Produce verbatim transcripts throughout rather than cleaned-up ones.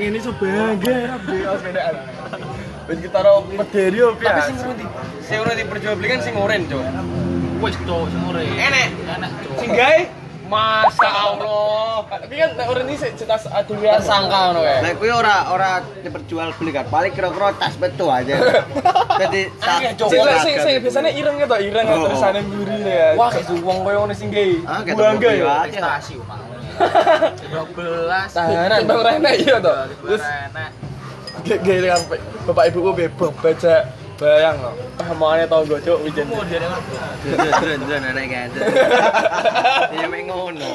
ngene iso bangga rabe sepedaan. Wis kita ro mederi yo Tapi sing ngono di sing ngono diperjualbelikan sing oren, Cuk. Wis cok sing ore. Enek. Enak cok. Sing gawe Masya Allah. Tapi kan nek oren iki cetas adewe tersangka ngono kae. Lah kuwi ora ora diperjualbelikan, paling kira-kira tas betul aja. Jadi sing sing biasane ireng to, ireng tulisane mburi ya. Wah, wong koyo ngono sing gawe. Bangga ya. Prestasi umah. dua belas Tahanan Bang Rene iya to. Terus enak. Gede kan Bapak Ibu bebong baca bayang loh. Pahmane tanggo cuk wijen. Kemudian yang dren-dren anak gede. Ya mek ngono.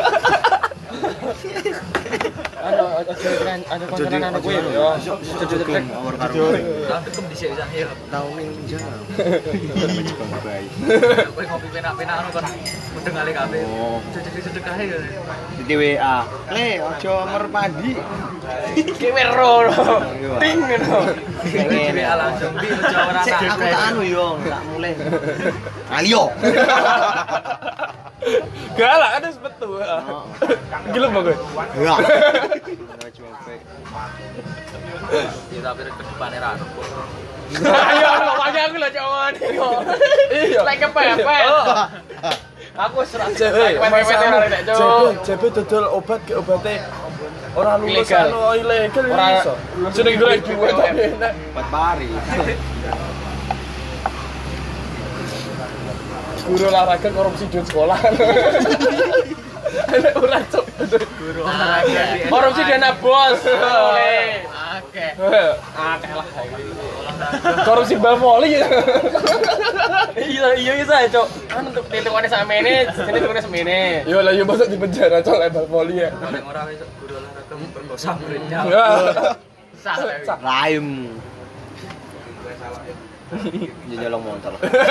Ano aja kan ada konseran anak gue yo. Jojo trek awar karo. tapi kem dhisik bisa hil. Tahu ning jalan. Jepang bayi. Kowe ngopi penak-penak ngono kon mudeng kali kabeh. Oh. Sedekah-sedekah ya. Di W A. Le, ojo merpadi. Ki wero. Ting ngono. Ngene langsung di ora Cek aku tak anu yo, tak mulai. Alio. Galak ada sebetul. Gila bagus. Ya. Ya tapi ke depane ra ono. Ayo pokoknya aku lho cowok. Iya. Lek kepepet. Aku serak jebet. Jebet jebet dodol obat ke obate ora lulus anu ilegal iso. Jeneng golek duit tapi enak. Buat pari. Guru olahraga korupsi duit sekolah. Enak ora cok. Guru olahraga. Korupsi dana bos. Oleh. Oke. Akeh lah. Korupsi bal voli. Iya iya iya cok. Kan untuk ditungane sakmene, sini tukune semene. Yo lah yo masa di penjara cok lek bal voli ya. Paling ora wis guru olahraga memperkosa muridnya. Sah. Raim. Nyolong motor.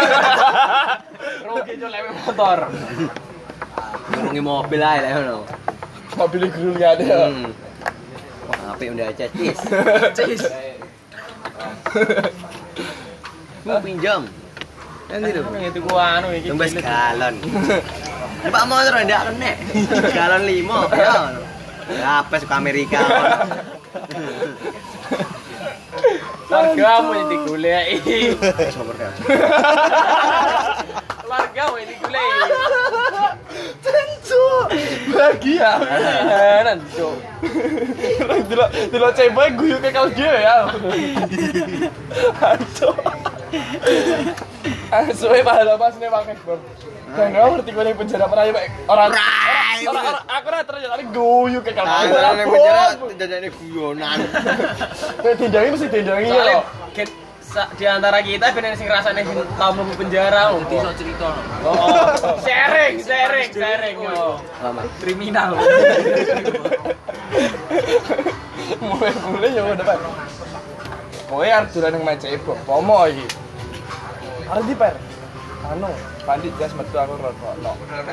Rugi cok lek motor. Ngurungi mobil ae lek ngono. Mobil guru lihat ya. Wah, apik udah aja cis. Cis. Mau pinjam. Kan gitu. Itu gua anu iki. Tembes galon. Pak motor ndak kene. Galon lima ya. Ya apa suka Amerika. Wargamu yang digoleki. Sober kan. Wargamu yang digoleki. Tentu. Bahagia. Nan, Cuk. Delok delok cewek guyu ke kau dia ya. Aduh. Asu e pahala pas ne pakai bom. Dan ora ngerti kok ning penjara pernah orang orang aku ora terus tapi guyu ke kau. Ning penjara jajane guyonan. Tindangi mesti tindangi ya. Di antara kita bener sing rasane tau mlebu penjara lho. Iso cerita. Oh, sharing, sharing, sharing yo. Kriminal. Mulai-mulai yo depan. Kowe arep dolan nang Macake Pomo iki. Arep di per. Anu, pandit jas metu aku rokokno.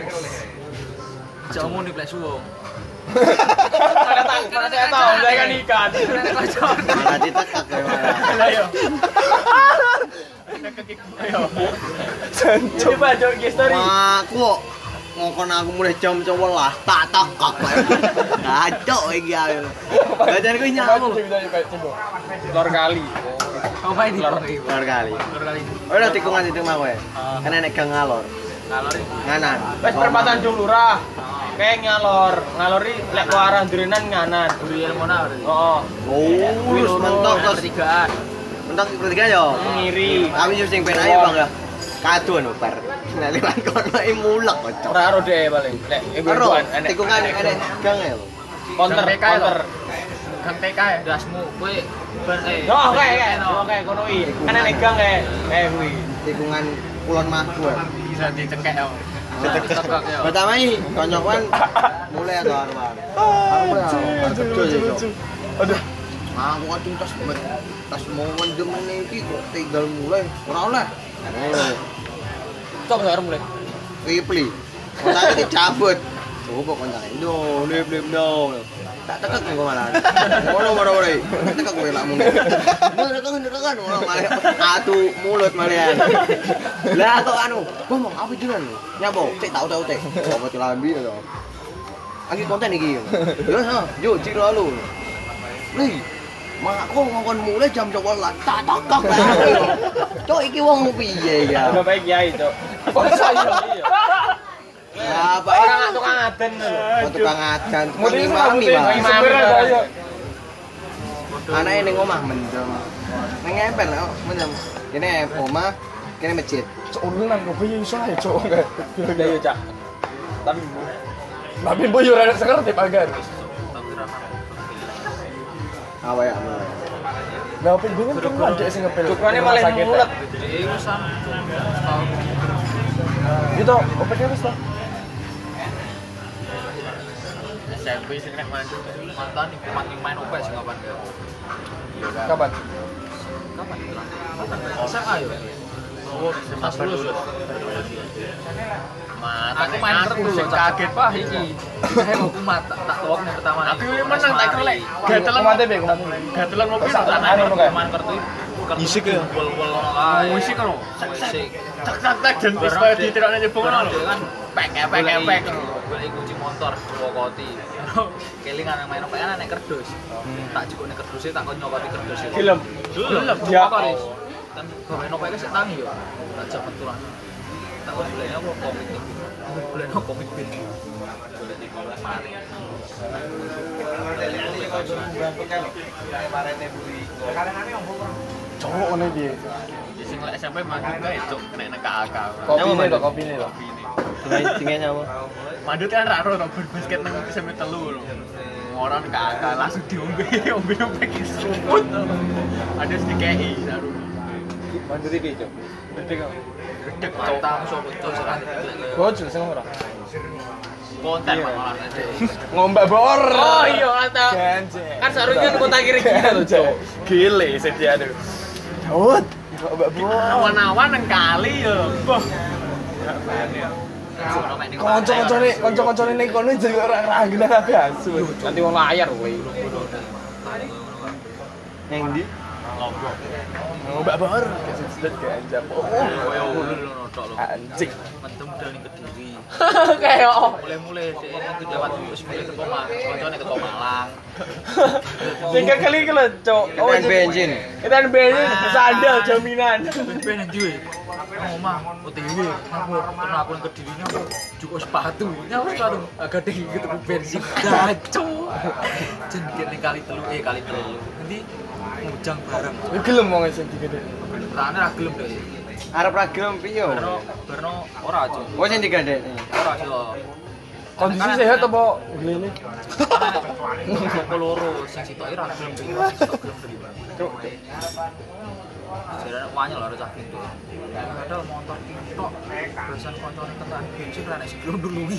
Jamu di plek suwung. Ada tak, mana saya tahu, saya kan ikan. Malah ditekak ya malah. Ayo. Ayo. Coba jok history. Aku ngokon aku mulai jam sebelas tak tekak. Ngacok iki ayo. Badan ku nyamuk. Lor kali. Apa ini? Lor kali. Lor kali. Oh, udah tikungan itu mah kowe. Kan enek gang ngalor. Ngalor iki. Nganan. Wes perempatan Jung Lurah. Kayak ngalor, ngalori lek ke arah Drenan nganan. Buri Elmona berarti. Oh. Oh, wis mentok terus Pertigaan. mentok ketiga yo. Ngiri. Kami sing ben ayo Bang ya. Kado no par. Nek liwat kono i mulek kocok. Ora aro deh paling. Lek Karo tikungan enek gang ya. Counter, counter. Gang T K ya, dasmu kowe ben eh. Oh, oke, oke. Oke, kono iki. Kan enek gang kae. Eh kuwi. Tikungan Kulon Magu. Bisa dicekek yo. Ditekek yo. Pertama iki konyokan mulai atau arwan. Aduh. Aku kan tas tas mau mendem iki kok tinggal mulai ora oleh. Oh. Coba sekarang mulai. Ripli. Kontake dicabut. Coba kontake. No, lip lip no. Tak tekek kok malah. Ngono ora-ora. Tekek kowe lak muni. Tekan tekan ora malah atu mulut malian. Lah kok anu, ngomong apa jenengan? Nyapa? Cek tau tau cek. Apa celambi to. Lagi konten iki. Yo, yo, ciro lu. Li, makku ngomong mulai jam sebelas. Tak takak lah. Cok iki wong piye ya? Ono bae kiai, Cuk. Oh, saya iya. Ya, Pak Orang tukang aden lho. Oh, tukang adan, tukang Mesti imami, Pak. sebenarnya saya. Anake ning omah mendem. Ning emper lho, mendem. Kene omah, kene masjid. Cuk, lu nang kopi iso ae, Cuk. Udah yo, Cak. Tapi Tapi mbok yo ora sekerti pagar. Apa ya? Lah opo bingung tuh adek sing ngepel. cukurane malah mulet. Iku sam. Gitu, opeknya wis lah. S M P sing nek mantu mantan iku mati main opek sing kapan ya? Kapan? Kapan? S M A yo. Oh, pas lulus. Mat, aku main terus lho, kaget Pak iki. Saya mau kumat tak tak tolong yang pertama. Aku ini menang tak kelek. Gatelan Kumate be, kumate. gatelan ngopi Sak- tak anu anu kae. main kartu. Isik ya? Wol-wol ae. Musik kan. Isik. Tak tak tak dan wis kaya diterokne nyebong ngono lho. Kan pek pek pek. Golek kunci motor Purwokoti. Kelingan yang main opekan nek kerdus. Tak jukune kerduse tak kon nyokoti kerduse. Film. Gelem. Ya. Kan gawe nopo iki sik tangi yo. Tak jabat tulan. Tak golek apa komik. Golek no komik bin. Golek di komik mari. Cowok ngene piye? Sing lek S M P mandut kae cuk nek nek K A K. Kopine lho, kopine lho. Tingene apa? Mandut kan ra ro basket nang S M P telu lho. Orang K A K langsung diombe, ombe ombe kisut. Ada sedikit saru. Mandiri piye, Cuk? Gede kok. Dek matamu sopo to serah. Bocil sing ora. Konten malah ade. Ngombak bor. Oh iya, ata. Ganjeng. Kan seharusnya kota kiri-kiri lho, Cuk. Gile sediane. Daud, ngombak bor. Awan-awan nang kali yo. Boh. Kanca-kancane, kanca-kancane ning kono jadi ora ranggelan kabeh asu. Nanti wong layar kowe. Ning ndi? Lombok. Ngombak bor. Kesedet ganjang. Oh, Koyo ngono lho tok lho. anjing. Mentem dal ning Kediri. Kayak Mulai-mulai sik itu lewat wis mulai teko Malang, koncone teko Malang. sing kekeli iki lho, Cuk. Oh, bensin. Kita bensin sandal jaminan. Ben ndi we? Omah, O T W. Aku pernah aku nang Kediri aku cukup sepatu. Nyawa sepatu. Agak deh ketemu bensin. Dacu. Jenenge ning kali telu eh kali telu. Nanti mujang bareng. Yo gelem wong sing digede. Rane ra gelem deh. Arep ra gelem piye? Berno berno ora aja. Oh sing digadekne. Ora yo. Kondisi sehat apa glene? Kok loro sing sitoke ra gelem deh. Sing sitok gelem deh. Jarane wanyel lho cah gitu. Padahal motor tok besan koncone tekan bensin ra nek sebelum dului.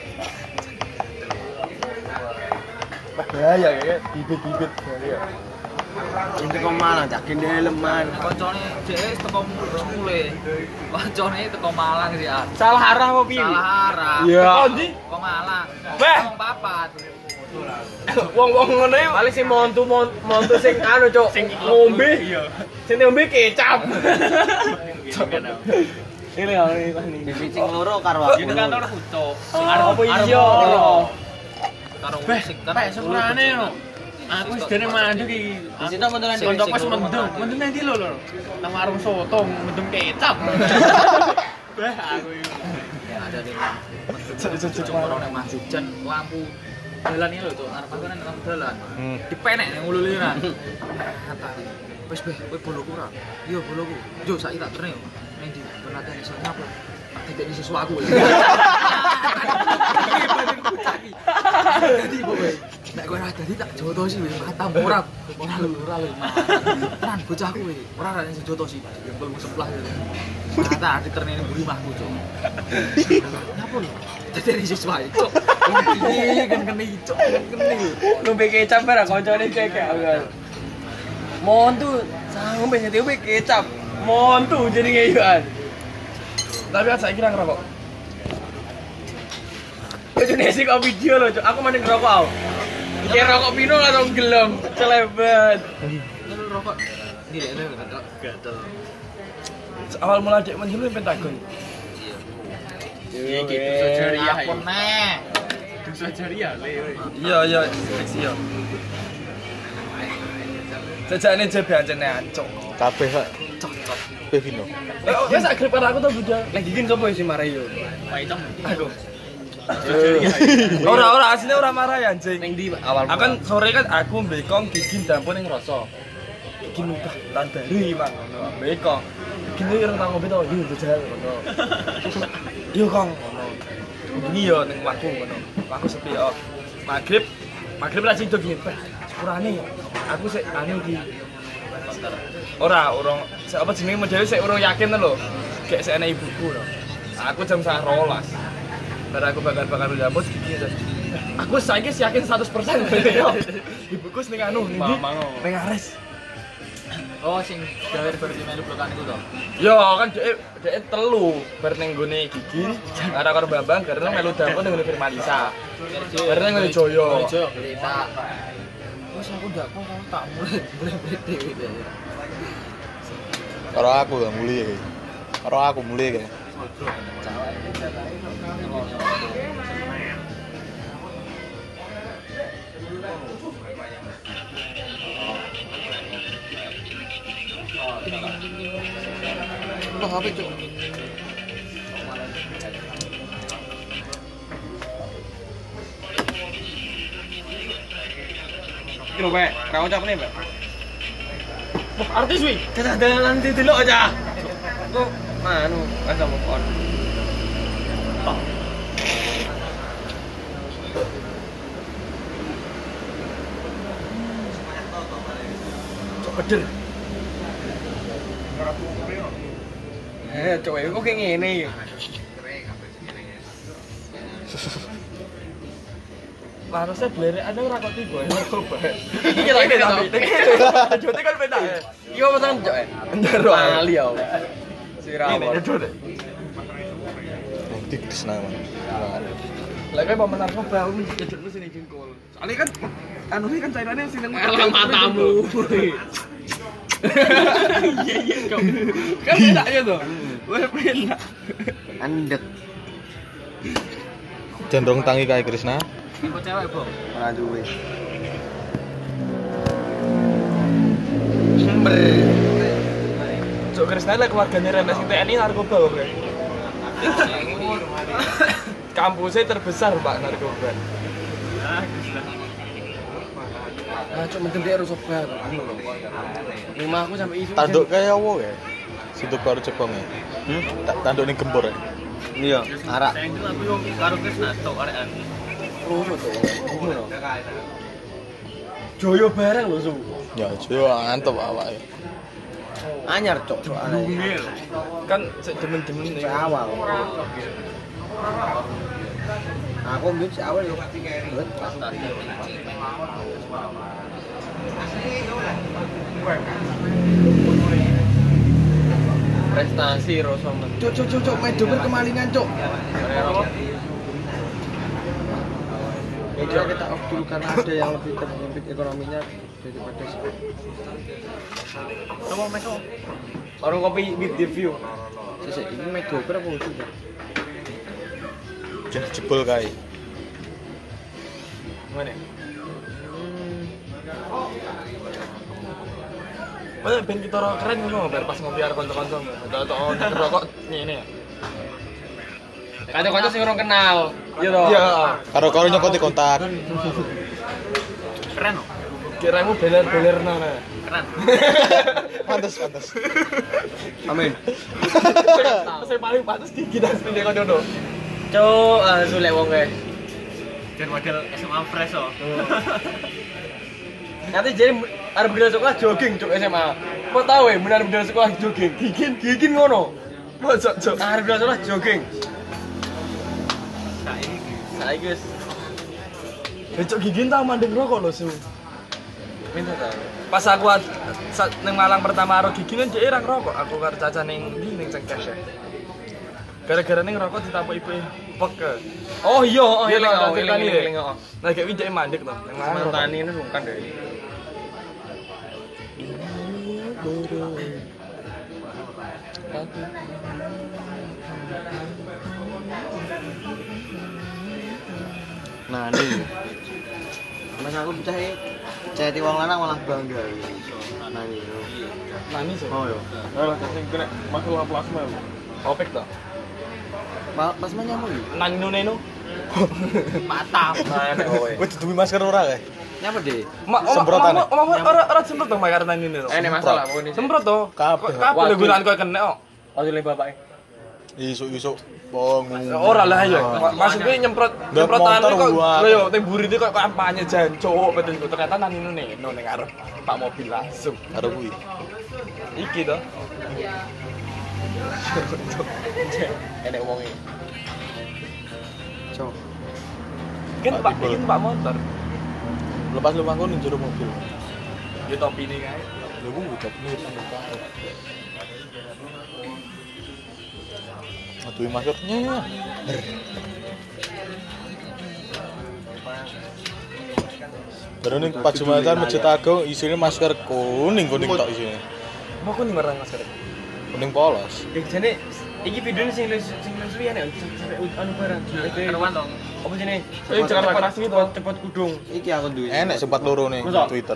Bahaya kayak bibit-bibit ya. Ini kok Malang cak gendeleman. Koncone dhewe teko mule. Koncone teko Malang sih ah. Salah arah apa piye? Salah arah. Iya. Teko ndi? Teko Malang. Beh. Wong papat. Wong-wong ngono iki paling sing montu montu sing anu, Cuk. Sing ngombe. Iya. Sing ngombe kecap. Ini lho ini. Bibicing loro karo aku. Ini kantor Ucok. Apa iya? Karo musik kan. Pek sepurane yo. Aku wis dene mandek iki. Di situ mentulan Sing konco pas mendem. Mendem nang ndi lho lho. Nang warung soto mendem kecap. Beh aku iki. Ada di Cuk-cuk Cuma orang masuk jan lampu jalan ini loh tuh, arep aku nang lampu jalan. Dipenek nang ulu-uluran. Katane, wis beh, kowe boloku ora? Iya boloku. Yo saiki tak terne yo. Ning ndi penate iso nyapa? Tak titik sesuatu. Dadi kowe. Nek kowe ora dadi tak jotosi wis matamu ora. Ora lho, ora lho. Kan bocahku kowe. Ora ora sing jotosi. Jempolmu sebelah. Ternyata diterne ning buri mahku, Cuk. Nyapa lho? Dadi sesuatu, Cuk. Iki kan kene iki, Cuk. Kene. Ngombe kecap ora koncone kek. Montu, ngombe ngombe kecap. Montu jenenge yo an. Tapi kan saiki nang ngerokok. Bojone sik kok video lho, Cuk. Aku mending ngerokok aku. Iki rokok pino atau gelem? Celebet. Lu rokok. Ndi lek lek gatel. Awal mula dek menjelu Pentagon. Iya gitu sajaria. Apa neh? Dosa jariah le. Iya iya seksi ya. Jajane jebe ancene ancuk. Kabeh kok Cocok. Pevino. Eh, wis sak grip karo aku to Budha. Lagi gini sapa sih marah yo? Paitom. Aku. Ora ora asline ora marah ya anjing. Ning di awal. Akan sore kan aku mbekong gigin dampun ning rasa. Gigin udah tan dari Mang ngono. Mbekong. Gini ora tau ngopi to, yo jajal ngono. Yo Kong ngono. Bengi yo ning waktu ngono. Aku sepi yo. Magrib, magrib ra sido gini. Sepurane aku sik anu iki. Ora, urung apa jenenge modele sik urung yakin lho. Kayak sik ana ibuku lho. Aku jam setengah rolas. Bar aku bakal-bakal njambut gigi. Aku saiki yakin seratus persen yo. Ibuku ning anu ning ndi? Ning Ares. Oh, sing gawe berarti melu blokan iku to. Yo kan dhek dhek telu bar ning gone gigi. Karo karo Bambang karena melu dampun ning Firmalisa. Karena ning Joyo. Joyo cerita. Wes aku ndak kok tak mulai mulai dhewe dhewe. Karo aku ya muli iki. Karo aku muli iki. Wah, apa itu? Kira Pak, ra ucap nih, Pak. Wah, artis wi. Dadah nanti delok aja. Kok anu, kan sama kon. Cok bedel. Eh, cowok kok kayak ngene iki. Harusnya belerek ada ora kok tiba ya coba. Iki lagi tapi. Jote kan beda. Iki apa san cok? Ndero. Ali yo. Sirawon. Ini jote. Nanti Krisna man. Lah kayak pemenar coba aku jedekmu sini jengkol. Soalnya kan anu ini kan cairannya sini Elang matamu. Iya iya kok. Kan beda ya tuh. Wah beda. Andek. Cenderung tangi kayak Krisna. Tipe cewek, Bro. Ora duwe. Cok Krisna lah keluarganya Remes sing T N I narkoba kok. Kampusnya terbesar Pak narkoba. Ah, cok mendem dia rusak banget. Rumah aku sampai isu. Tanduk kayak apa ya? Situ baru Jepang ya. Hmm? Tanduk ning gembor ya. Iya, arak. Saya itu aku yang karo Krisna tok arekan. Rusak tuh. Ngono. Joyo bareng lho su. Ya, yo antep awake. Anyar cok, cok anak. Kan sik demen-demen Sampai awal. Aku mbien si awal yo. Prestasi Rosomen. Cok cok cok cok main dober kemalingan cok. Ya juga kita off dulu karena ada yang lebih terhimpit ekonominya daripada si. Coba meso. Orang kopi with the view. Sese ini main dober apa udah? Jen jebol kae. Mana? Mana ben kita ora keren ngono bar pas ngopi karo kanca-kanca. Tok on rokok ngene ya. Kanca-kanca sing orang kenal. Iya toh. Iya. Karo-karo nyokoti kontak. Keren loh. Kiramu beler-beler nana. Keren. Pantes, pantes. Amin. Saya paling pantas di kita sendiri kan dono. Cok, ah sulek wong kae. Dan model S M A fresh oh. Nanti jadi arep budal sekolah jogging cok S M A. Mau tahu ya benar budal sekolah jogging. Gigin gigin ngono. Mosok cok. Arep budal sekolah jogging. Saiki Saiki guys. Becok gigin tau mandeng rokok lho su. Minta ta. Pas aku neng Malang pertama karo gigi kan dhek ora ngerokok. Aku karo Caca ning ndi ning Cengkes ya. Gara-gara ning ngerokok ditampuk ibu pek. Oh iya, oh Iya, iya, oh, oh iya, iya, iya. iya. Nah kayak dhek mandek to. Ning Malang. Mantan ini bukan deh. Nah, ini. Mas aku percaya, percaya wong lanang malah bangga. nani. Nani sih. Oh yo. Alah, sing kena masalah plasma. Opek toh. Pas mana nyamuk iki? Nani nuneno. Mantap. Nah, enak kowe. Wis duwe masker ora kae? Nyapa deh? Semprotan. Ora ora semprot dong bayar nani nuneno. Eh, ini masalah pokoknya. Semprot toh. Kabeh. Kabeh lho gunaan kowe kena kok. Ojo le bapake. Isuk-isuk bongu. Ora lah yo. Maksudnya nyemprot nyemprotan motor kok buat. lho yo teh burite kok kampanye jancuk betul ternyata nani nuneno ning arep Pak mobil langsung. Karo kuwi. Iki toh. Enek wonge. Cok. Kan Pak iki Pak motor. Lepas lu mangkon ning jero mobil. Yo topi ini kae. Lha ku ucap nih penumpang. Aduh maskernya. Baru ning Pak Jumatan Masjid Agung isine masker kuning-kuning tok isine. Mau kuning warna masker. Kuning polos. Eh jane iki videone sing sing suwi enek sampai anu barang. Karuan dong. Apa sini? Eh jangan panas gitu. Cepet kudung. Iki aku duwe. Enek sempat loro nih Masa? Twitter.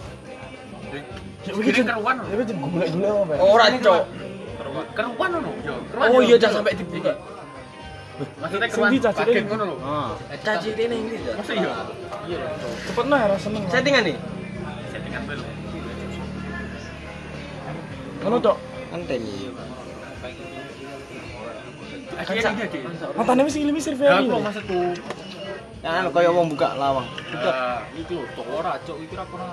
Iki karuan. Ini tuh gula-gula apa? Ora, Cok. Keruan ono. Oh iya jangan sampai dibuka. Maksudnya keruan Sing di caci paket ini. ngono lho. Ah. Caci ini ini. Masa iya? Cepet nah rasa seneng. Settingan nih. Settingan dulu. Ngono tok. Enten iki. Akhirnya ini aja. Matane wis ngilimi Ya survei. aku maksudku. Kan kaya wong buka lawang. Dekat. Iki lho, Cok ora, Cok iki ora pernah.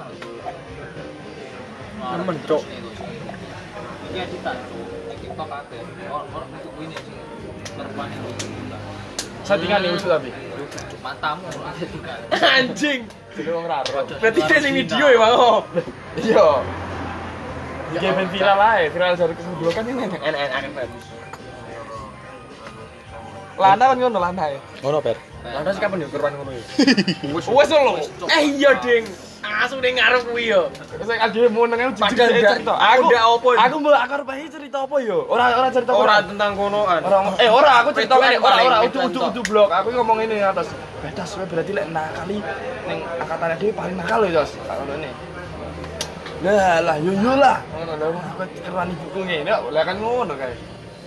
Nemen, Cok. Iki editan, Cok. TikTok akeh. Orang untuk ini sih. Perempuan itu. Settingan nih usul tapi. Matamu. Anjing. Jadi wong raro. Berarti dia sing video ya, Bang. Iya. Iki ben viral ae, viral dari kedua kan ini enak-enak kan bagus. Lana kan ngono lana ya. Ngono, Per. Lantas kapan yo keruan ngono ya? Wes lho. Eh iya, Ding. Asu ning ngarep kuwi yo. Sing ade muneng jujur Padahal ndak- cerita. Aku ndak apa. Aku mbok aku arep ae cerita apa yo? Ora ora cerita Ora tentang konoan. Ora eh ora aku cerita Wedoan ngene, ora paling ora wedoan udu udu tok. udu blok. Aku ngomong ini atas. Bedas kowe berarti lek nakali ning angkatane dhewe paling nakal lho, Jos. Tak ngene. Lah lah yo yo lah. Ngono lho aku keruan ibuku ngene kok. Lah kan ngono kae.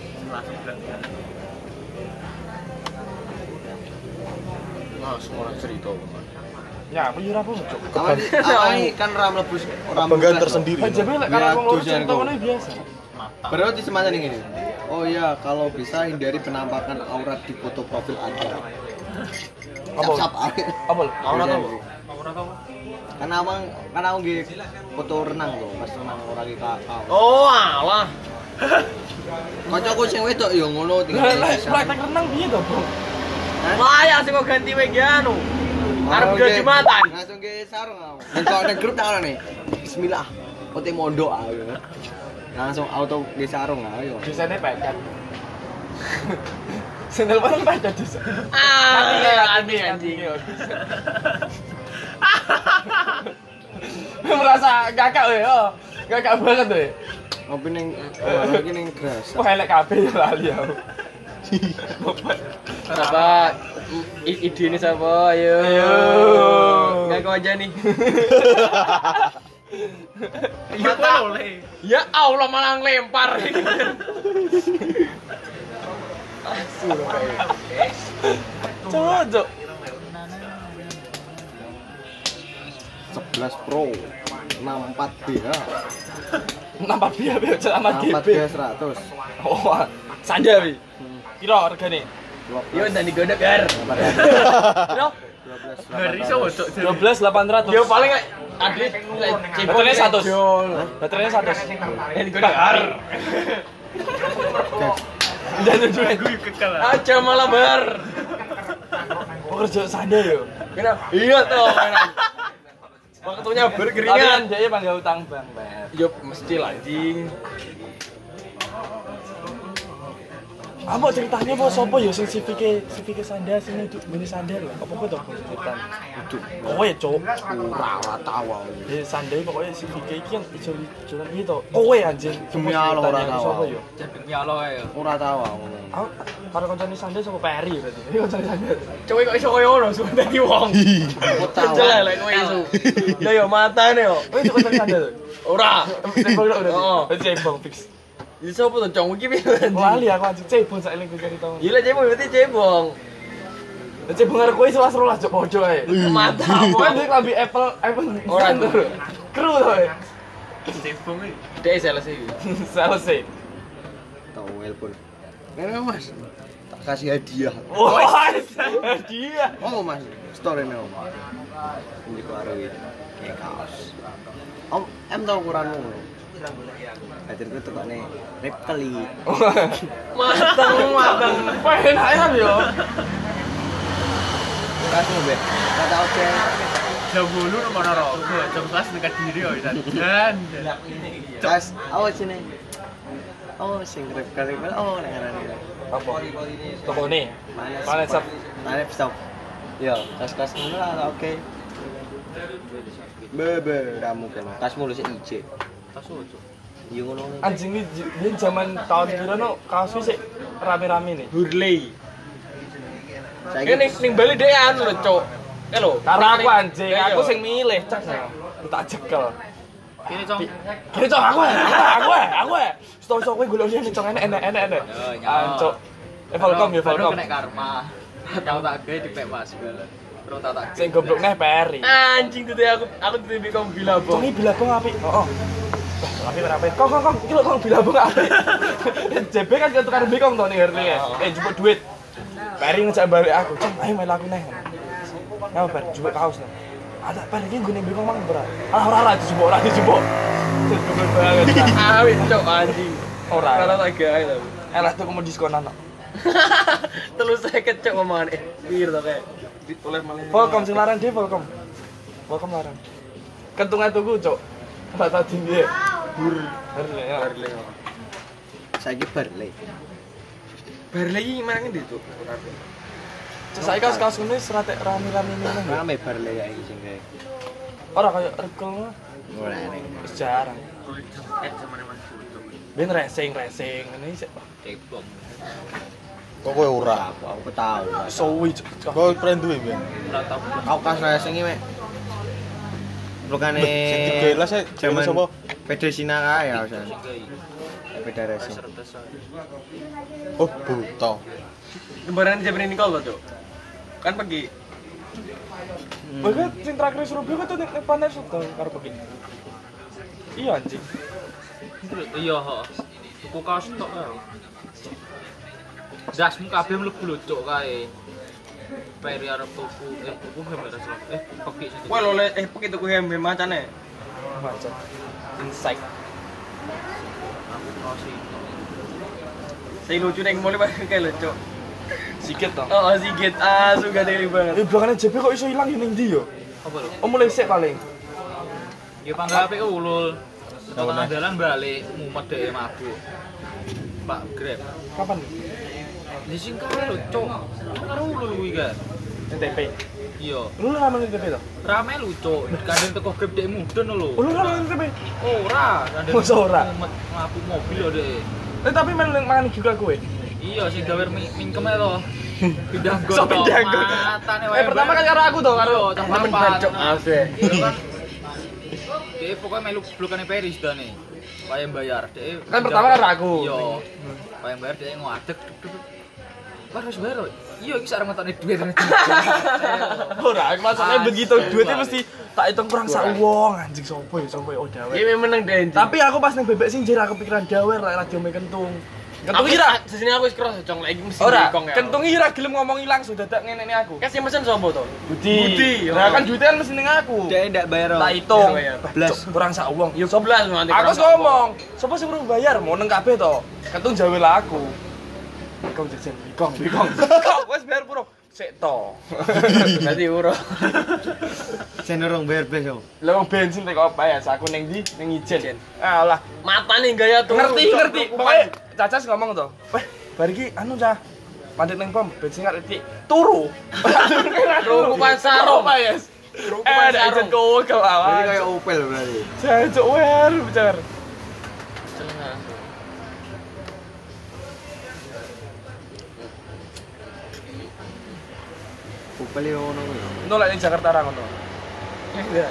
Nah, semua cerita. Ya, aku yo ora apa, Cuk. Awak awak kan ora mlebu ora Kebanggaan tersendiri. Aja lek karena Ya, aku ngono tujuan cerita kok. ngono biasa. Berarti semacam ini. Oh iya, kalau bisa hindari penampakan aurat di foto profil Anda. Apa? Sap Apa lho? Aurat Aurat apa? Ora tau. Karena abang, karena aku nggih foto renang loh, pas renang ora ki kakak. Oh, alah. Kancaku sing wedok ya ngono tinggal. Lah lah praktek renang piye to, Bro? Wah, sing kok ganti wek anu. Arep Oke. gede Jumatan. Langsung ke sarung aku. Dan kalau ada grup tak nih. Bismillah. Ote mondok aku. Langsung auto ke sarung ayo. Desane paket. Sendal bareng paket desa. Ah, anjing anjing. Merasa gagak we, oh. Gagak banget we. Ngopi ning lagi ning gras. Wah elek kabeh ya lali aku. Siapa? I- ide ini siapa? Ayo. Ayo. Enggak kau aja nih. Ya boleh. Ya Allah malah ngelempar ini. Cocok. sebelas Pro enam puluh empat B H. Nampak dia be amat enam puluh empat G B. B seratus. Oh, sanja wi. Piro regane? Yo dan digodok gar. Piro? Hari iso wedok. dua belas delapan ratus. Yo paling ade Baterainya seratus. Baterainya seratus. yang digodok gar. Jangan juga gue kekal. Aja malah bar. Oh kerja sanja yo. Kenapa? Iya tuh mainan. Waktunya berkeringat. Tapi kan dia panggil utang bang, Bang. Yo mesti lah anjing. Apa ceritanya apa sapa ya sing sivike sivike sandal sing nduk mini sandal lho. Apa kok to ceritane? Nduk. Kowe cuk. Ora ora tahu aku. Ya sandal pokoknya sivike iki kan iso jalan iki to. Kowe anjing Demi Allah ora tahu. Sapa ya? Demi Allah ya. Ora tahu aku. Aku karo kancane sandal sapa Peri berarti. Iki kancane sandal. Cuk kok iso koyo ngono suwe dadi wong. Aku tahu. Jelas lek kowe iso. Ya yo matane yo. Kowe cuk kancane sandal. Ora. Cebong lho berarti. Oh. Cebong fix. Iso apa to cong iki piye? Wali aku anjing cebong sak eling cerita. Gila cebong berarti cebong. Cebong karo kowe selas rolas cuk pojok ae. Mata Kowe apa? ndek lambi Apple iPhone. Ora. Kru to. Cebong iki. Dek sales iki. Selesai. Tahu telepon. Ngene Mas. Tak kasih hadiah. Wah, dia. Oh Mas, story nih Om. Ini karo iki. Kayak kaos. Om, em tau ukuranmu. Hadirku tuh nih reptili. Mateng mateng. Pengen enak yo. Kasmu be. Kata oke. Jam bolu nomor rokok, jam kelas dekat diri yo dan. Kas, awas sini. Oh, sing reptili. Oh, nek ngarani. Apa? Toko nih. Mana sap? Mana stop. Yo, kas-kas ngono lah oke. Bebe, ramu kan. Kasmu lu sik ije. Tas ojo. Yo ngono. Anjing ini dia zaman tahun kira no kaos sih rame-rame nih. Hurley. Saiki Ini ning Bali dek anu lho, Cuk. Eh lho, Karo aku anjing, aku sing milih cek no. Tak jekel. Kene cong. Kira cok aku ya, aku ya, aku ya. Stok-stok kowe golek liyan cok enek enek enek enek. Yo, nyo. Ancok. Eh Volcom ya Volcom. Kena karma. Tahu tak gawe dipek Mas bala. Terus tak tak. Sing goblok neh Peri. anjing tuh aku aku tuh lebih kamu bilang Cok iki bilabong apik. Heeh. Wah, apik ora apik. Kong kong kong, iki lho kong bilabong apik. J B kan ketukar bikong to ning Harley. Eh jupuk duit. Peri ngejak balik aku, "Cok, ayo melu aku neh." Nah, Peri jupuk kaos neh. Ada Peri iki nggone bikong mang ora. Ah ora ora dijupuk, ora dijupuk. Dijupuk banget. awit Cuk anjing. Ora. Ora tak gawe lho. Elah tuh kamu diskonan kok. Terus saya kecok omongan eh pir to kayak ditulis malah. Volcom sing larang dhewe Volcom. Volcom larang. Kentungan tuku, Cok. Tak tadi piye? Bur. Harley ya. Harley. saiki Barley. Barley iki mana ngendi, Cuk? Cek saiki kaos-kaos ngene wis rate rame-rame ngene. Rame Barley ya iki sing gawe. Ora kaya regel Ora nek. wis jarang. Eh zamane Mas Putu. Ben racing racing ngene sik. Cebong. Kok kowe ora? Aku aku tahu. Suwi. Kok pren duwe ben? Ora tau. Aku kas racing iki mek. Lukane Sing digelas e jaman sapa? Pedesina kae ya, San. Sing gawe. Beda racing. Sertes. Oh, buta. Lembaran jam ini kau Cuk. Kan pergi. Bahkan sing terakhir Surabaya tuh nek panas tuh karo pergi. Iya anjing. Iya, heeh. Tuku kaos tok ya. Dasmu kabeh mlebu lho cuk kae. Peri arep tuku eh tuku gambar salah. Eh peki sing. Wah lo eh pergi tuku hem hem macane. Macet. Insight. Aku kaos iki. Saya lucu ning mall kayak lucu. Sikit toh. Oh, sikit. Ah, suka dari banget. Eh belakangnya J B kok iso ilang ning ndi yo? Apa lho? Oh mulai sik paling. Ya panggape ulul. Tengah dalan balik mumet dhek mabuk. Pak Grab. Kapan? Di sing kae lho cuk. Karo ulul kuwi kan. N T P. Iya. Lu lama ning N T P toh? Rame lho cuk. Kadang teko Grab dhek mudun lho. Oh, lu lama ning N T P. Ora, kadang Masa ora? mumet mabuk mobil lho dhek. Eh tapi melu ning mangan juga kowe. Iya sing gawe mi- mingkem ae to. Pindah gon. So, pindah gon. Matane Eh pertama kan karo aku toh karo Iya, cah Temen papat. Cuk. Asik. Iya kan. Dia pokoknya melu blokane Peris dane. Wayang bayar. Dia Kan pertama karo aku. Iya. Wayang bayar dia ngadeg. Wah, harus bayar. loh. Iya, iki sak ngetokne duit. Ora, maksudnya begitu duitnya mesti tak hitung kurang sak wong anjing sopo ya sopo ya oh dawe. Iki meneng deh. Tapi aku pas ning bebek sing jera kepikiran dawe lek radio me kentung. Kentung iki ra di sini aku wis keras cong lagi mesti ora. dikong ya. Kentung iki ra gelem ngomongi langsung dadak ngene aku. Kasih mesen sapa to? Budi. Budi, Nah oh. kan duitnya kan mesti ning aku. Dia ndak bayar. Tak hitung. Iya, iya. Blas kurang sak wong. Ya sopo sebelas nanti. aku wis ngomong, sapa sing urung bayar mau neng kabeh to. Kentung jawe lah aku. Bikong jajan, bikong, bikong. Kok wis bayar puro? Sik to. Dadi uro. Cenderung bayar bes yo. Lah wong bensin tek apa ya? Aku ning ndi? Ning Ijen. Alah, Matane gaya tuh. ngerti ngerti. Pokoknya Cacas ngomong to. Weh, bar iki anu cah. Mandek nang pom, ben sing arep turu. Ruku pasaro. Apa ya? Ruku Eh, ada pasaro. ijen kowe Jadi kawan. kayak Opel berarti. Jancuk wer, bicar. Opel yo ngono kuwi. Itu lek ning Jakarta ra ngono. Iya.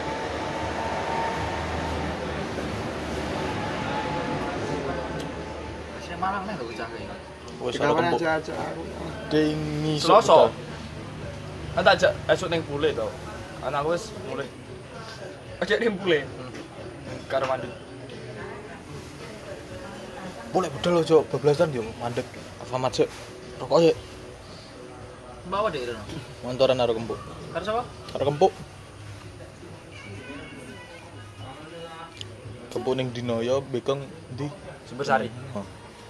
Sing Malang nek lho cah iki. Wis Kita ora mana kempuk. aja aku. Ding ngisuk. Selasa. Kan tak ajak esuk ning bule to. Anakku wis mulai. Ajak ning bule. Karo mandi. Boleh budal lo, Cok. Bablasan yo mandek. Alfamart sik. Rokok sik. Bawa deh Rono. Montoran karo kempuk. Karo sapa? Karo kempuk. Kempuk ning dino yo bekong ndi? Sumbersari. Oh.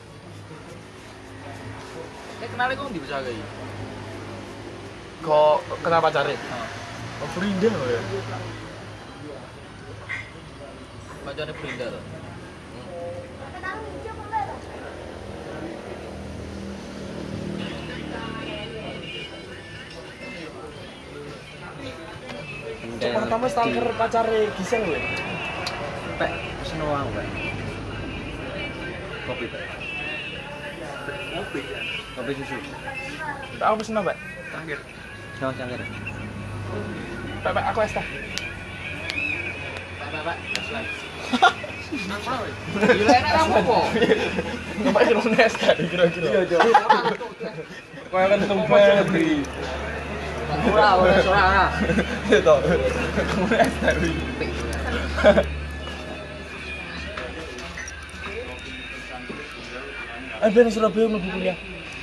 Nek kenal kok ndi bisa iki? Kok kenapa cari? Oh, Frida ya. Bacane Frida to. Cuk pertama stalker pacare Gisel lho. Pek pesen uang, Pak. Kopi, Pak. Kopi ya. Kopi susu. Tak aku pesen Mbak. Terakhir. Sama cangkir. Pak, Pak, aku es teh. Pak, Pak. Nang mana weh? Gila enak kamu kok. Mbak kira es teh kira-kira. Iya, Cuk. Kau kan tumpah beli. Ora, ora, ora. Itu. Kamu es teh. Eh, ben Surabaya mlebu kuliah.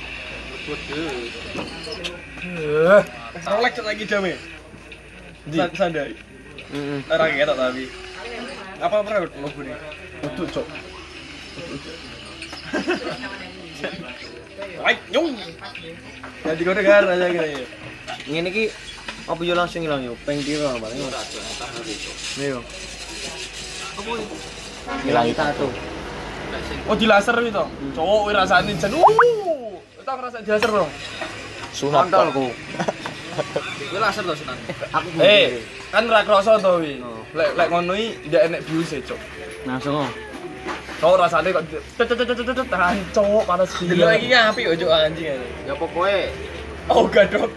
Eh, Rolek lagi jame. Di. Sandai. Heeh. Ora ketok tapi. Apa pernah mlebu nih? Uduk, Cuk. Wait, nyung. Jadi kau dengar aja gitu. Ngene iki apa yo langsung ilang yo? Peng piro paling ora. Nih yo. Apa iki? Ilang satu. Oh, di laser itu. Cowok wis rasane jen. Uh. Itu ngerasa di laser dong. Sunat. Pak. Kontolku. Kuwi laser to Sunan. Aku Eh, kan ra kroso to wi. Oh. Lek lek ngono iki ndak enek views e, Cuk. langsung. Cowok rasane kok tet tet tet tet tahan cowok panas gila. Dulu lagi ngapi ojo anjing aja. Ya pokoke Oh, gadok.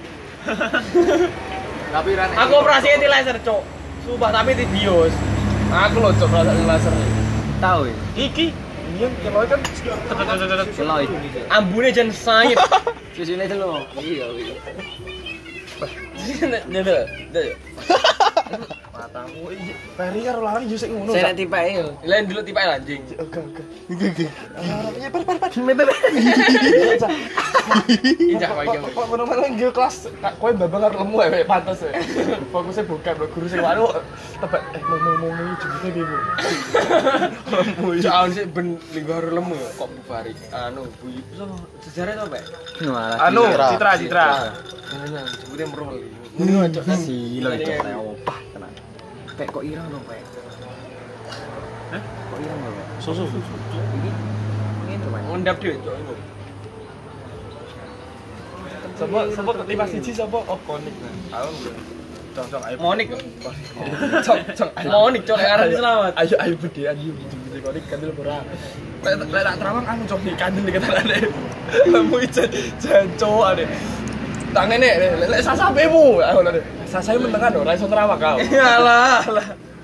tapi ran Aku operasinya di laser, Cuk. Sumpah tapi di bios. Aku lho, Cuk, operasi laser. Tahu ya? Iki iya keloi kan tet tet tet tet. Keloi. Ambune jen sayip. Susune dulu. iya iya. Nyedel. Nyedel. Matamu iki Peri karo larang yo sik ngono. Saya nanti Pak yo. Lain dulu tipe anjing. Oke, oke. Injak kok iki. Kok ngono-ngono nggih kelas kowe babang karo lemu ya pantes ya. Fokusnya bukan lho guru sing waru tebak eh ngomong-ngomong iki jebute piye, Bu? Lemu iki. Jangan sih ben linggo harus lemu ya kok Bu Fari. Anu Bu so sejarah to, Pak. Anu, Citra, Citra. Nah, jebute merul. Ini aja silo itu teh opah tenan. Pek kok irang dong, Pek. Hah? Kok irang dong, Pek? Susu. Ini ngene Pak. Ngondap dhewe cok iku. Sapa sapa lima siji sapa? Oh, konik. Aku cong-cong ayo. Monik. Cok cok. Monik cok lek arep selamat. Ayo ayo bedean yuk jebute konik kandel ora. Lek lek tak terawang anu cok nih kandel iki ketarane. Lemu ijen jancuk ade. Tangene lek lek sasapemu. Aku lho. Sasae menengan ora iso terawak kau. Alah, alah.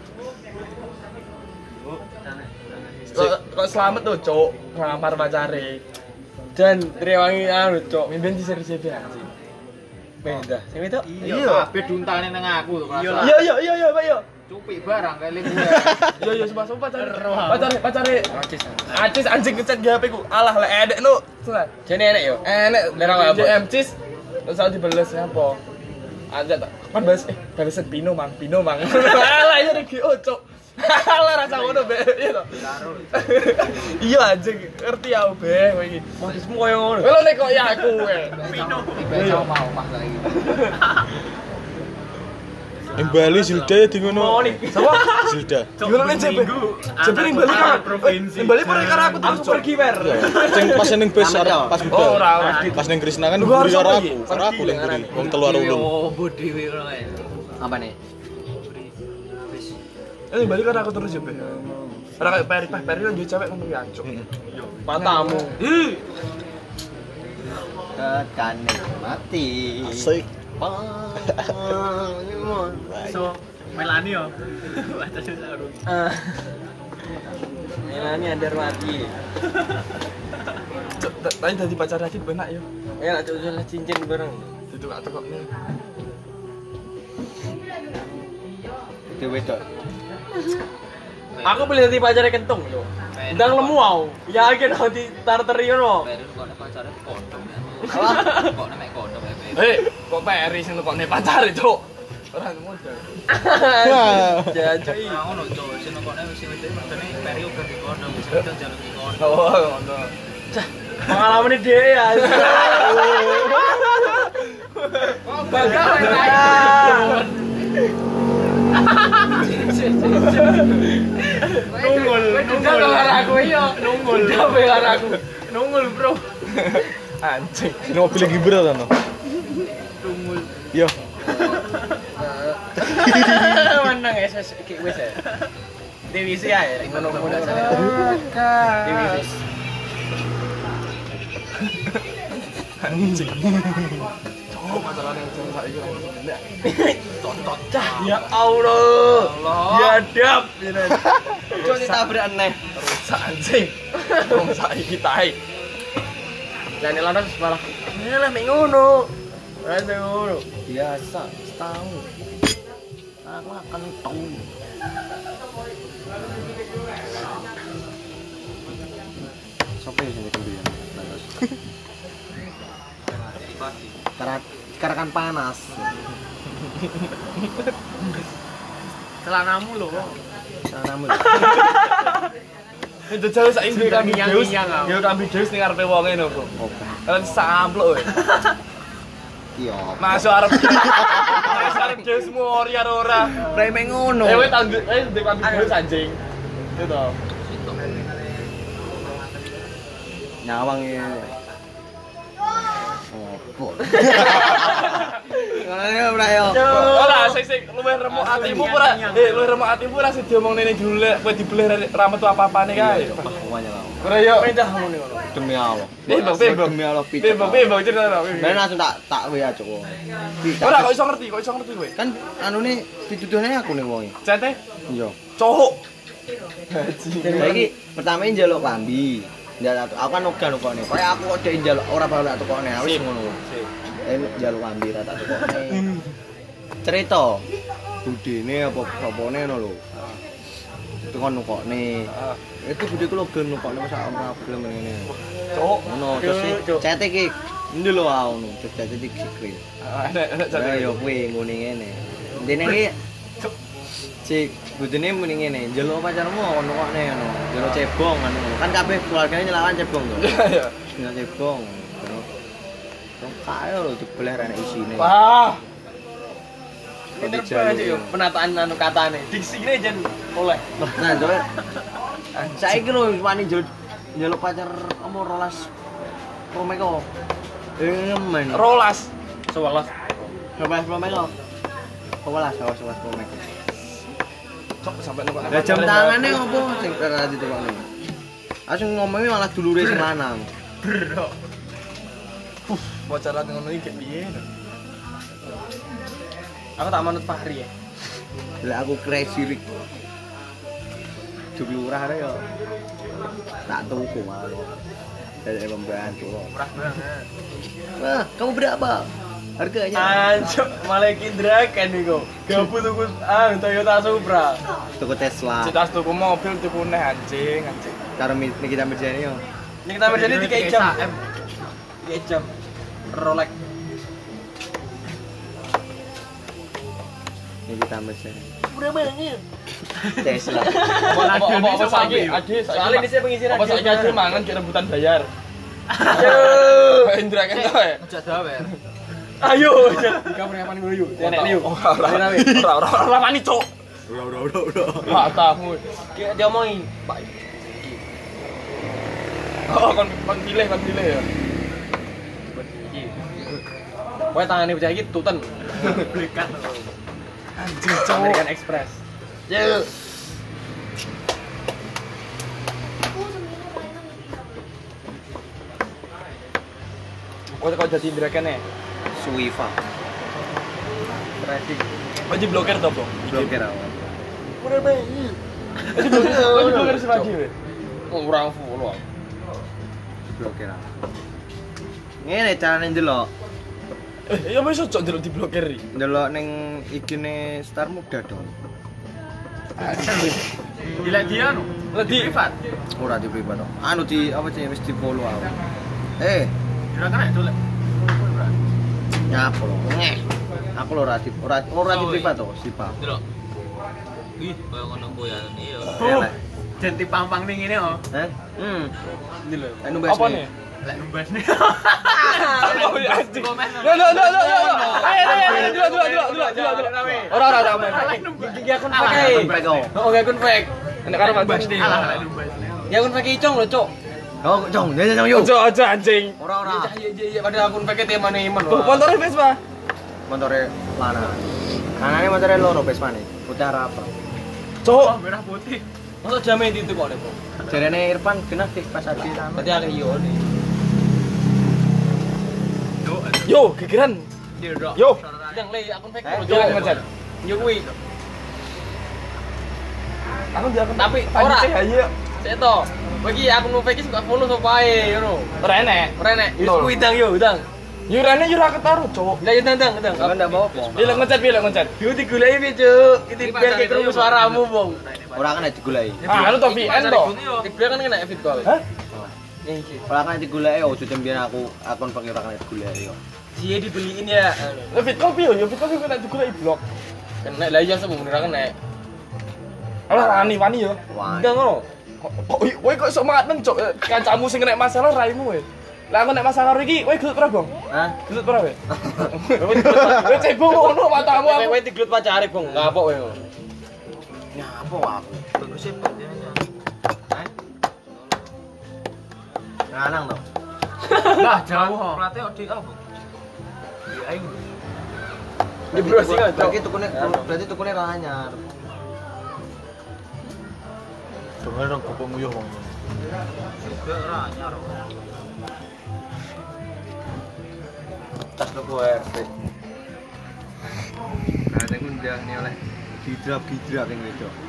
Kok kok selamat tuh, Cok. Ngamar pacare. Dan Triwangi anu cok. Mimpin di seri-seri anjing. Beda. Sing itu? Iya, kabeh duntane nang aku to. Iya iya iya iya, Pak yo. Cupik barang kayak gue. Iya iya sumpah sumpah pacare. Pacare pacare. Acis anjing ngechat G H P ku. Alah lek edek nu. Sulah. Jane enek yo. Enek Lerang apa? D M cis. Terus aku dibales apa? Ada tak kan balas eh balesan Pino Mang, Pino Mang. Alah ya G O, Cok. Alah rasa ngono be. Iya to. Iya anjing, ngerti aku be kowe iki. Modusmu koyo ngono. Lho nek kok ya aku kowe. Pino. Tiba sama mau mah lagi. Ning Bali Zilda ya di ngono. Sapa? Zilda. Ngono ning J B. J B ning Bali kan provinsi. Ning Bali pernah karo aku terus pergi wer. Sing pas ning bis arep pas Oh budal. ora ora. Pas ning Krisna kan buri karo aku. Karo aku ning buri. Wong telu karo ulun. Oh, bodi kowe ngono kae. Apa nih? Eh ning Bali kan aku terus J B. Ora kayak Peri, Peri kan jadi cewek ngono ya, Cuk. Matamu. Ih. Tekan mati. Asik. So, Melani yo. Baca susah urung. Melani ada mati. Cuk, tadi dadi pacar lagi benak yo. Ya nak jual cincin bareng. Itu gak tekok nih. Itu wedok. Aku beli tadi pacarnya kentung yo. Ndang lemu au. Yakin aku di tarteri ngono. Baru kok nek pacare kondom ya. Apa? Kok nek kondom ya. Eh, kok Peri sing tekokne pacare, Cuk. Ora modal. Jancuk iki. Nah, ngono cok, sing nekone wis sing wedok mergane peri uga di kondom, wis wedok jaluk di kondom. Oh, ngono. Pengalaman dia ya. Bakal Nunggul, nunggul aku yo. Nunggul, gawe aku. Nunggul, Bro. Anjing. Ini mobil lagi berat kan? Nunggul. Yo. Menang ya ses iki wis ya. Divisi ae rek ngono-ngono aja. Divisi. Anjing. Cuk, masalahnya yang saiki ora enak. Tonton cah. Ya Allah. Ya dap. Cuk ditabrak aneh. Rusak anjing. Wong saiki tae. Jane lanang malah. Ya lah mek ngono. Ora ngono. Biasa, setahun. Aku akan tahu. Siapa yang sini kemudian? Karena karena kan panas. Celanamu lho. Caramu. Itu jauh saiki duwe kambi deus. Ngiyang-ngiyang, aku. Ya kambi deus ning arepe wonge lho, Bro. Oke. Kan sampluk kowe. Iya. Masuk arep. Masuk arep deus mori karo ora. Preme ngono. Eh, kowe tanggo, eh duwe kambi deus anjing. Itu. Nyawang ya. Opo. Ngono ora yo. Ora sik sik luwih remuk atimu ora. Eh, luwih remuk atimu ora sing diomongne ning jule kowe dibeleh ra metu apa-apane kae. Semuanya lah. Ora yo. Perintah ngono ngono. Demi Allah. Bebok, bebok. Demi Allah pijet. Bebok, bebok cerita ora. Ben langsung tak tak wae aja kok. Ora kok iso ngerti, kok iso ngerti kowe. Kan anune dituduhne aku nih wonge. Cete Iya. cowok. Saiki pertama njaluk klambi. Njaluk aku kan ogan kok nih. Kayak aku kok dhek njaluk ora bakal tak tukokne wis ngono. Eh njaluk klambi ra tak tukokne. Cerita budene apa sopone ngono lho. Itu kan nukokne. Itu bude ku lho gelem nukokne masa ora gelem ngene. Cowok. Ngono terus cete iki ndi lho ah ngono. Terus cete iki sikil. Enak enak Lah cete. yo kuwi ngene ngene. Dene iki cik budene muni ngene, njaluk pacarmu ono kokne ngono. Njaluk cebong ngono. Kan kabeh keluargane nyelawan cebong to. Iya. Njaluk cebong. Kok kae lho dibeleh rene isine. Wah. Pinter banget yo penataan anu katane. Diksine jan oleh. Nah, coba. Saiki lho wani njaluk njaluk pacar omor rolas promeko. Eh men. Rolas. Sewelas. Rolas promeko. Sewelas, sewelas, sewelas promeko. Cok sampai nukok. Lah jam tangane opo sing ora ditukokne? Langsung ngomongnya malah dulure sing lanang. Bro. Puh, pacaran ngono iki piye? Aku tak manut Fahri ya. Lah aku crazy rik. Duk lurah ya. Tak tuku malu. Dari pembantu. Murah banget. Wah, kamu berapa? Harganya? Anjok, malah kindrakan nih kok. Gabut tuku ah Toyota Supra. Tuku Tesla. Citas tuku mobil tuku neh anjing, anjing. Karo Nikita Mirzani yo. Ini kita berjadi tiga jam. tiga jam. Rolex. Nikita Mirzani. Murah banget. Tesla. Apa apa apa saiki? Ade saiki. Soalnya ini saya pengisi Apa saiki ade mangan ki rebutan bayar. Aduh. Pak Indra kan to ya. Aja dawer. Ayo. Di kamar yang paling dulu. Nek liu. Ora ora ora ora ora mani cok. Udah, udah, udah, udah. Matamu. Kayak dia omongin, Pak. Oh, kon kon pilih, kon pilih ya. Kowe tangane bocah iki tuten. Belikan. Anjing cowok. American Express. Yo. Kok kok jadi draken ya? Suifa. Traffic. Wajib blokir toh, Bro. Blokir awal. Udah bayi. Wajib blokir, wajib blokir sama dia. Oh, ora follow. Blokir awal. Ngene carane ndelok. Eh, ya wis ojo ndelok diblokir iki. Ndelok ning igine Star Muda dong. Gila dia anu. Lagi privat. Ora di privat dong. Anu di apa sih wis di follow aku. Eh, Ora kan itu lek. nyapa lo? Ngeh. Aku lo ora di ora ora di privat to, Sipa. Delok. Ih, koyo ngono ku ya. Iya. Elek. Jenti pampang ning ngene oh. Heh? Hmm. Ini lho. Anu Apa nih? Lek numbas nih. Oh, ya anjing. Lo lo lo lo lo. Ayo ayo ayo dulu dulu dulu dulu dulu. Ora ora ora. Gigi akun Ah, fake. Fake oh. Oh, gak akun fake. Nek karo Numbas Mas nih. Di. Alah, lek numbas. Ya akun fake icong lho, Cuk. Oh, jong, ya jong yo. Ojo ojo anjing. Ora ora. Iya iya iya padahal akun fake te mana iman. Tuh, motornya Vespa. Montore lanang. Kanane montore loro Vespane. Putih apa? Cok. merah putih. Masa jamin itu kok, Nek. Jarene Irfan kena fake pas adi sama. Berarti akeh yo nih. Yo, gegeran. Yo. Yang le akun fake Eh, Yo ngecat. Yo kuwi. Aku dia akan Tapi ora. ora. Ayo. Sik to. Bagi akun fake iki suka follow sapa ae ngono. Ora enek. Ora nek. Yo Nol. kuwi dang yo, dang. Yo rene yo ora ketaro, Cok. Lah yo dang dang dang. Kan ndak apa-apa. Pilih ngecat, pilih ngecat. Yo digoleki piye, Cuk? Iki biar kayak krungu suaramu, Bong. Ora kan digoleki. Ah, anu to V N to. Dia kan kena fit call. Hah? Iki. Ora kan digoleki ojo tembian aku akun pengen ora kan digoleki yo. Dia dibeliin ya. Lah fit call piye yo? Fit call kena digoleki blok. Kena lah iya sebelum bener kena. Ora wani wani yo. Wah. Enggak ngono. Kok kowe kok iso maten, Cok? Kancamu sing kena masalah raimu we. Lah aku nek masalah karo iki, kowe gelut pernah, Bang? Hah? Gelut pernah we? Kowe cebong ngono matamu aku. Kowe diglut pacare, Bong. Ngapok kowe. Nyapa aku? Bagus sih padanya. Hah? Lanang to. Lah jauh. Pelatih odik apa? Ya ayo. Di browsing aja. Berarti tukune berarti tukune ra anyar. Dengar dong kopong nguyuh wong. Juga ora anyar. Tas lo gue R T. Nah, aku ndang nih oleh gidrak-gidrak yang gitu.